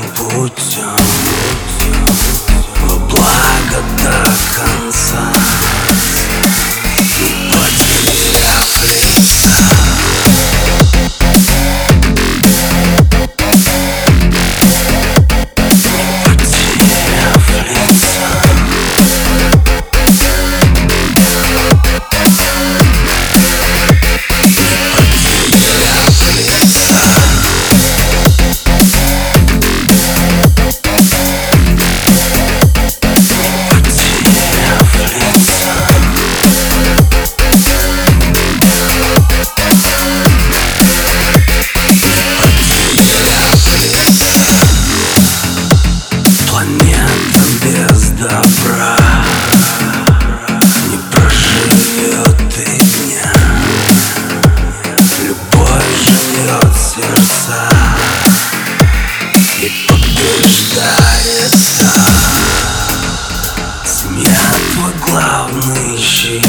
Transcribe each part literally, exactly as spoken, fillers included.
путем во благо до конца, не потеряв лица. Планета без добра не проживет и дня. Любовь живет в сердца и побеждается. Семья твой главный щит,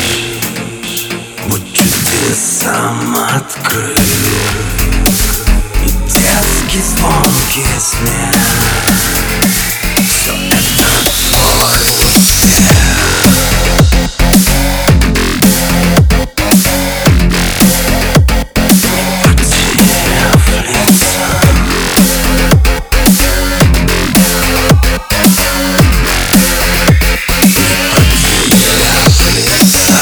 будь чудесам открыт, и детский звонкий смех. Все это твой успех. Потеряв лица, потеряв лица.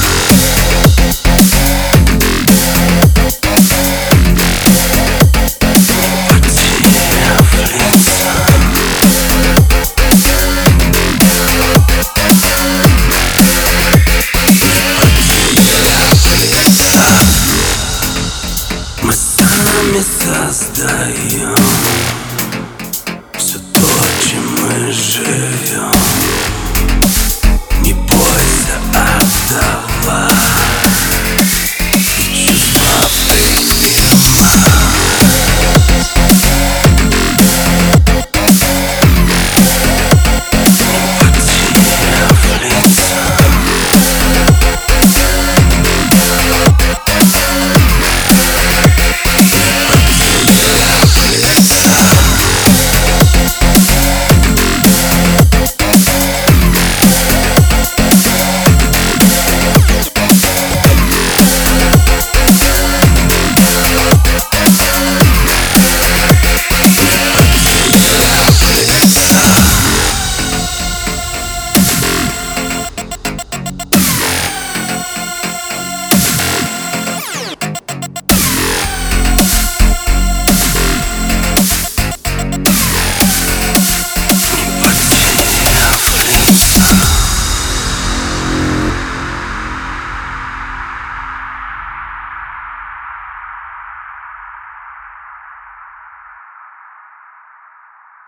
Мы сами создаем все то, чем мы живем.